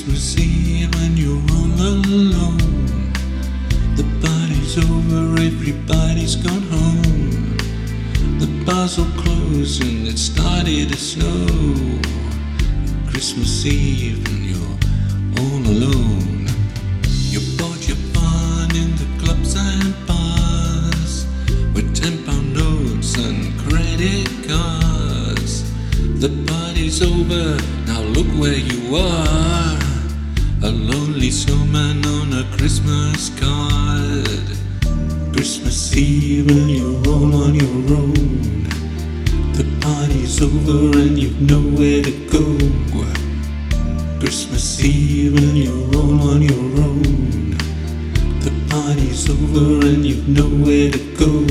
Christmas Eve and you're all alone. The party's over, everybody's gone home. The bars all closed and it started to snow. Christmas Eve and you're all alone. You bought your fun in the clubs and bars with £10 notes and credit cards. The party's over, now look where you are. A lonely snowman on a Christmas card. Christmas Eve and you're all on your own. The party's over and you've nowhere to go. Christmas Eve and you're all on your own. The party's over and you've nowhere to go.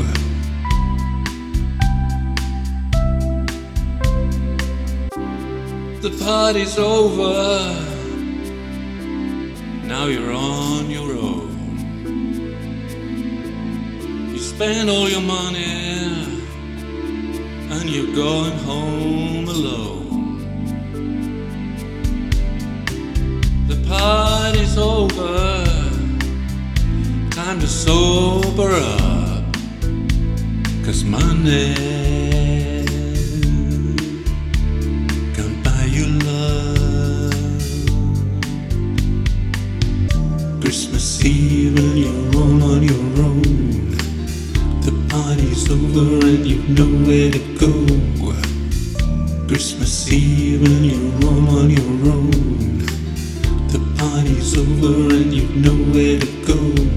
The party's over, now you're on your own. You spend all your money and you're going home alone. The party's over, time to sober up, 'cause money can't buy you love. Christmas Eve and you're all on your own. The party's over and you've nowhere to go. Christmas Eve and you're all on your own. The party's over and you've nowhere to go.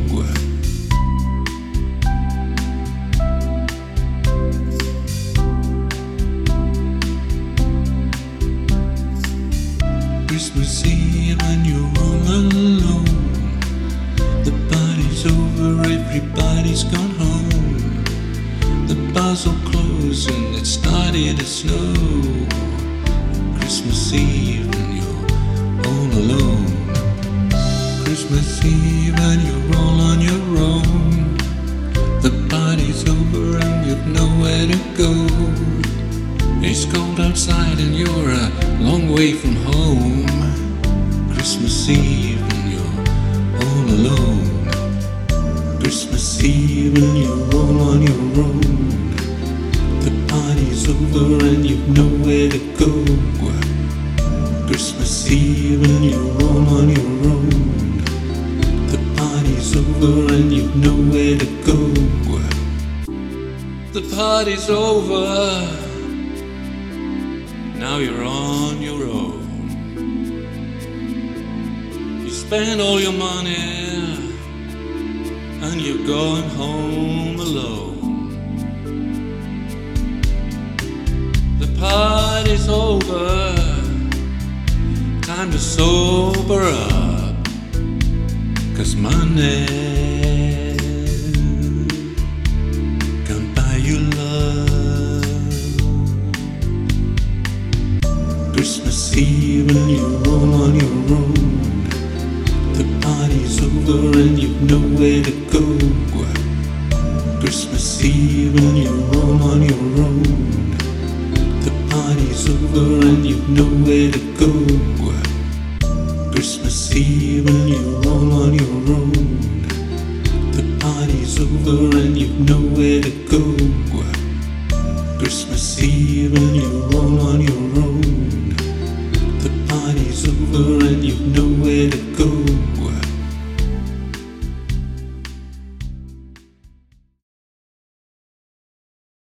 Christmas Eve and you're all alone. The party's over, everybody's gone home. The bars all closed and it started to snow. Christmas Eve and you're all alone. Christmas Eve and you're all on your own. The party's over and you've nowhere to go. It's cold outside and you're a long way from home. Christmas Eve and you're all alone. Christmas Eve and you're all on your own. The party's over and you've nowhere to go. Christmas Eve and you're all on your own. The party's over and you've nowhere to go. The party's over, now you're on your own. You spend all your money and you're going home alone. The party's over, time to sober up, 'cause money can't buy you love. Christmas Eve and you're all on your own. The party's over and you've nowhere to go. Christmas Eve and you're all on your own. The party's over and you've nowhere to go. Christmas Eve and you're all on your own. The party's over and you've nowhere to go. Christmas Eve and you're all on your own. The party's over and you've nowhere to go.